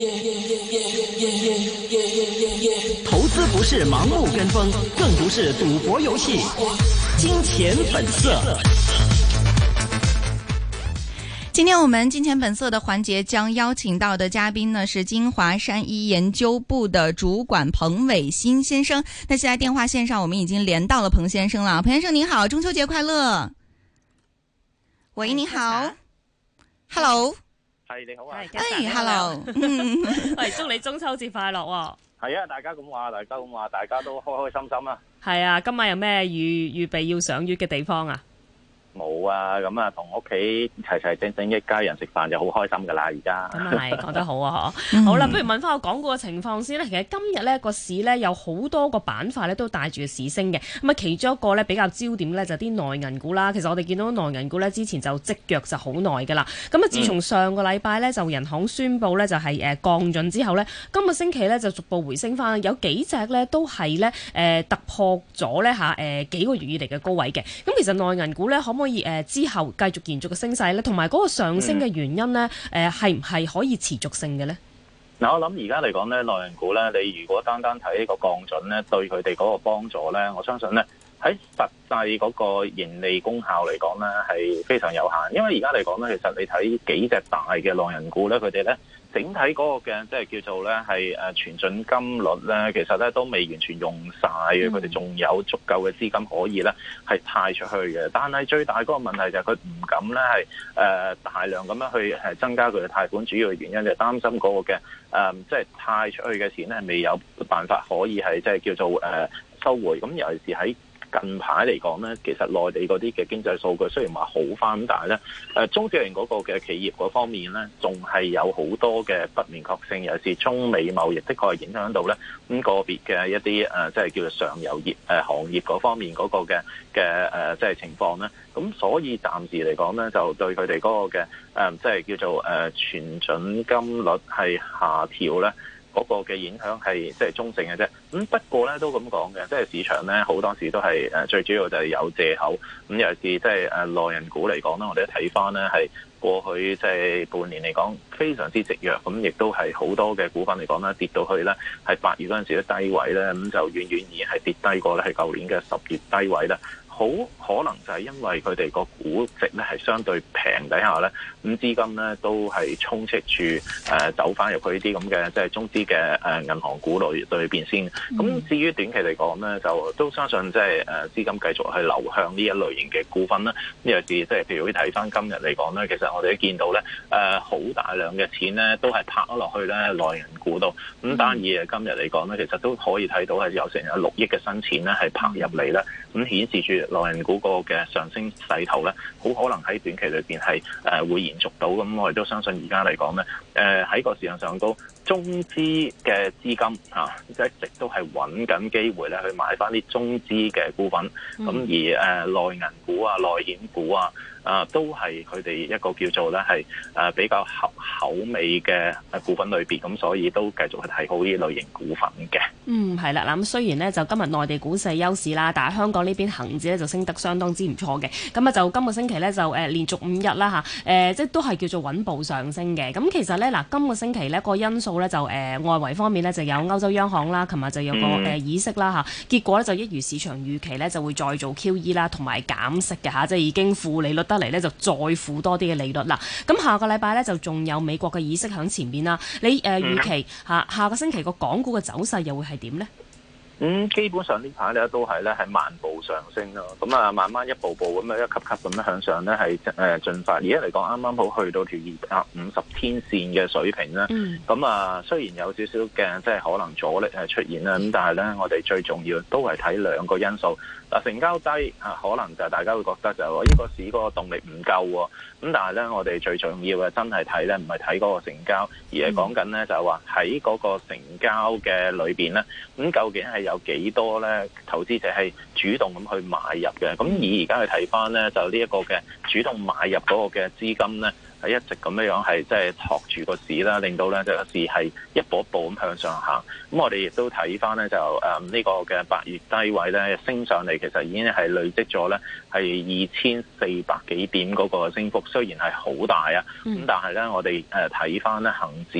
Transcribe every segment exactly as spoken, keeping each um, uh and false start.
投資不是盲目跟風，更不是賭博遊戲。金錢本色。 今天我們金錢本色的環節將邀請到的嘉賓呢是京華山一研究部的主管彭偉新先生。那現在電話線上我們已經連到了彭先生了。彭先生您好，中秋節快樂。喂，你好。Hello。 係你好啊。 哎 ，Hello。 喂，祝你中秋節快樂喎。 係啊，大家咁話，大家咁話，大家都開開心心啊。 係啊，今晚有咩預預備要賞月嘅地方啊？ 冇啊，咁啊同屋企齊齊整整一家人食飯就好開心噶啦，而家。 咁啊係，講得好啊嗬。好啦，不如問翻個港股嘅情況先啦。其實今日咧個市咧有好多個板塊咧都帶住市升嘅。咁啊，其中一個咧比較焦點咧就啲內銀股啦。其實我哋見到內銀股咧之前就積弱就好耐噶啦。咁啊，自從上個禮拜咧就人行宣布咧就係誒降準之後咧，今個星期咧就逐步回升翻，有幾隻咧都係咧誒突破咗咧嚇誒幾個月以嚟嘅高位嘅。咁其實內銀股咧可唔可以誒、呃、之後繼續延續嘅升勢咧，同埋嗰個上升嘅原因咧，誒係唔係可以持續性嘅咧？ 嗱，我諗而家嚟講咧，內銀股咧，你如果單單睇呢個降準咧，對佢哋嗰個幫助咧，我相信咧喺實際嗰個盈利功效嚟講咧係非常有限，因為而家嚟講咧，其實你睇幾隻大嘅內銀股咧，佢哋咧。整體嗰個嘅即係叫做咧係誒存準金率咧，其實咧都未完全用晒嘅，佢哋仲有足夠嘅資金可以咧係貸出去嘅。但係最大嗰個問題就係佢唔敢咧係誒大量咁樣去係增加佢嘅貸款，主要嘅原因就係擔心嗰個嘅誒即係貸出去嘅錢咧未有辦法可以係即係叫做誒收回。咁尤其是喺近排嚟講咧，其實內地嗰啲嘅經濟數據雖然話好翻，但係咧誒中小型嗰個嘅企業嗰方面咧，仲係有好多嘅不明確性，尤其是中美貿易的確係影響到咧咁個別嘅一啲誒，即係叫做上游業誒行業嗰方面嗰個嘅嘅誒，即係情況咧。咁所以暫時嚟講咧，就對佢哋嗰個嘅誒，即係叫做誒存準金率係下調咧。嗰個嘅影響係即係中性嘅啫，咁不過咧都咁講嘅，即係市場咧好多時都係誒最主要就係有藉口，咁尤其是即係誒內銀股嚟講咧，我哋睇翻咧係過去即係半年嚟講非常之積弱，咁亦都係好多嘅股份嚟講咧跌到去咧係八月嗰陣時嘅低位咧，咁就遠遠而係跌低過咧係舊年嘅十月低位啦。好可能就係因為佢哋個估值咧係相對平底下咧，咁資金咧都係充斥住誒走翻入去呢啲咁嘅即係中資嘅誒銀行股類裏邊先。咁至於短期嚟講咧，就都相信即係誒資金繼續去流向呢一類型嘅股份啦。呢個是即係譬如睇翻今日嚟講咧，其實我哋都見到咧誒好大量嘅錢咧都係拍咗落去咧內銀股度。咁單以今日嚟講咧，其實都可以睇到係有成有六億嘅新錢咧係拍入嚟啦。咁顯示住內銀股個嘅上升勢頭咧，好可能喺短期裏邊係誒會延續到。咁我哋都相信而家嚟講咧，誒喺個市場上都中資嘅資金啊，一直都係揾緊機會咧去買翻啲中資嘅股份。咁、嗯、而誒內銀股啊、內險股啊。啊，都係佢哋一個叫做咧係誒比較合口味嘅股份類別，咁所以都繼續去睇好呢類型股份嘅。 嗯，係啦，嗱咁雖然呢，就今日內地股市休市啦，但係香港呢邊恒指咧就升得相當之唔錯嘅。咁啊就今個星期咧就誒、呃、連續五日啦嚇，誒、呃、即係都係叫做穩步上升嘅。咁其實咧嗱，今個星期咧個因素咧就誒、呃、外圍方面咧就有歐洲央行啦，琴日就有個誒、呃、議息啦嚇，結果咧就一如市場預期咧就會再做 Q E 啦，同埋減息嘅嚇，即係已經負利率得嚟咧就再負多啲嘅利率啦。咁下個禮拜咧就仲有美國嘅議息喺前邊啦。你誒、呃、預期下下個星期個港股嘅走勢又會係點呢？ 咁、嗯、基本上呢排咧都係咧係慢步上升咯，咁啊慢慢一步步咁樣一級級咁樣向上咧係誒進發。而家嚟講啱啱好去到條二百五十天線嘅水平啦，咁、嗯、啊雖然有少少嘅即係可能阻力係出現啦，咁但係咧我哋最重要都係睇兩個因素。嗱，成交低啊，可能就大家會覺得就係話呢個市嗰個動力唔夠喎。咁但係咧，我哋最重要嘅真係睇咧，唔係睇嗰個成交，而係講緊咧就係話喺嗰個成交嘅裏邊咧，咁究竟係有幾多咧投資者係主動咁去買入嘅？咁而而家去睇翻咧，就呢一個嘅主動買入嗰個嘅資金咧。係一直咁樣樣係即係托住個市啦，令到咧就個市係一步一步咁向上行。咁我哋亦都睇翻咧就誒呢個嘅八月低位咧升上嚟，其實已經係累積咗咧係二千四百幾點嗰個升幅，雖然係好大啊，咁但係咧我哋誒睇翻咧恆指咧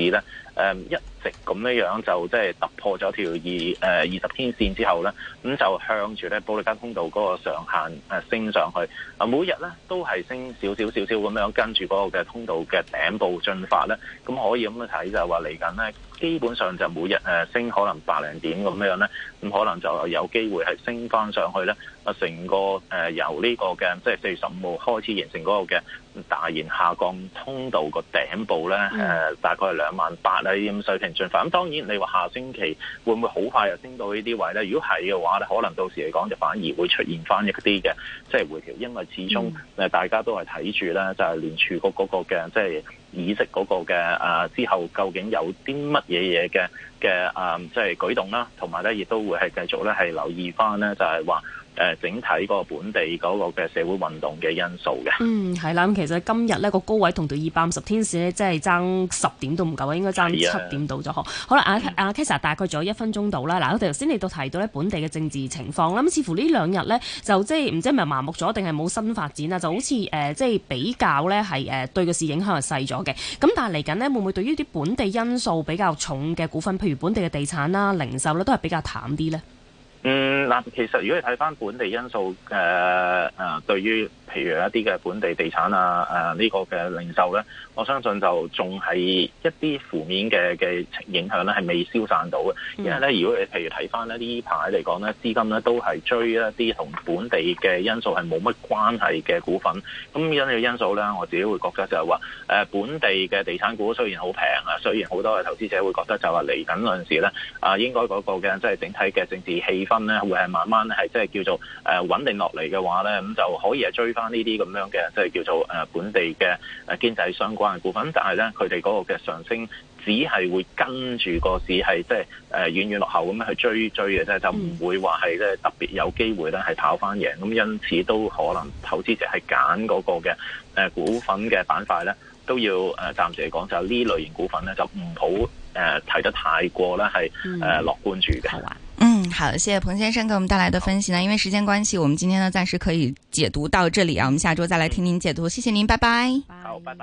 誒一直咁樣樣就即係突破咗條二誒二十天線之後咧，咁就向住咧保利加通道嗰個上限誒升上去。啊，每日咧都係升少少少少咁樣跟住嗰個嘅通道嘅頂部進發咧，咁可以咁樣睇就係話嚟緊咧，基本上就每日誒升可能百零點咁樣咧，咁可能就有機會係升翻上去咧。啊，成個誒由呢個嘅即係四月十五號開始形成嗰個嘅大型下降通道個頂部咧，誒、嗯呃、大概係兩萬八啊呢啲水平進發。咁當然你話下星期會唔會好快又升到呢啲位咧？如果係嘅話咧，可能到時嚟講就反而會出現翻一啲嘅即係回調，因為始終誒大家都係睇住咧，就係聯儲局嗰個嘅即係議息嗰個嘅啊之後究竟有啲乜嘢嘢嘅嘅啊即係舉動啦，同埋咧亦都會係繼續咧係留意翻咧，就係話。誒整體嗰個本地嗰個嘅社會運動嘅因素嘅，嗯， 係啦。咁其實今日呢個高位同到二百五十天線呢，即係爭十點都唔夠啊，應該爭七點到咗嗬。好啦，阿阿 Kesa 大概仲有一分鐘到啦。嗱，我哋頭先你都提到咧本地嘅政治情況啦，咁似乎呢兩日呢，就即係唔知係咪麻木咗定係冇新發展啊？就好似誒、呃、即係比較咧係誒對個市影響係細咗嘅。咁但係嚟緊呢，會唔會對於啲本地因素比較重嘅股份，譬如本地嘅地產啦、零售咧，都係比較淡啲咧？ 嗯，嗱，其實如果你睇翻本地因素，誒、呃、誒、呃，對於譬如一啲嘅本地地產啊，誒、呃、呢、這個嘅零售咧，我相信就仲係一啲負面嘅嘅影響咧，係未消散到嘅。因為咧，如果你譬如睇翻咧呢排嚟講咧，資金咧都係追一啲同本地嘅因素係冇乜關係嘅股份。咁因呢個因素咧，我自己會覺得就係話，誒、呃、本地嘅地產股雖然好平啊，雖然好多嘅投資者會覺得就話嚟緊嗰陣時咧，啊應該嗰個嘅即係整體嘅政治氣氛咧，會係慢慢咧係即係叫做誒穩定落嚟嘅話咧，咁就可以係追翻呢啲咁樣嘅即係叫做誒本地嘅誒經濟相關嘅股份，但係咧佢哋嗰個嘅上升只係會跟住個市係即係誒遠遠落後咁樣去追追嘅啫，就唔會話係即係特別有機會咧係跑翻贏。咁因此都可能投資者係揀嗰個嘅誒股份嘅板塊咧，都要誒暫時嚟講就呢類型股份咧就唔好誒睇得太過咧係誒樂觀住嘅。 嗯，好，謝謝彭先生給我們帶來的分析呢。因為時間關係，我們今天呢暫時可以解讀到這裡啊，我們下周再來聽您解讀。謝謝您，拜拜。 好，拜拜。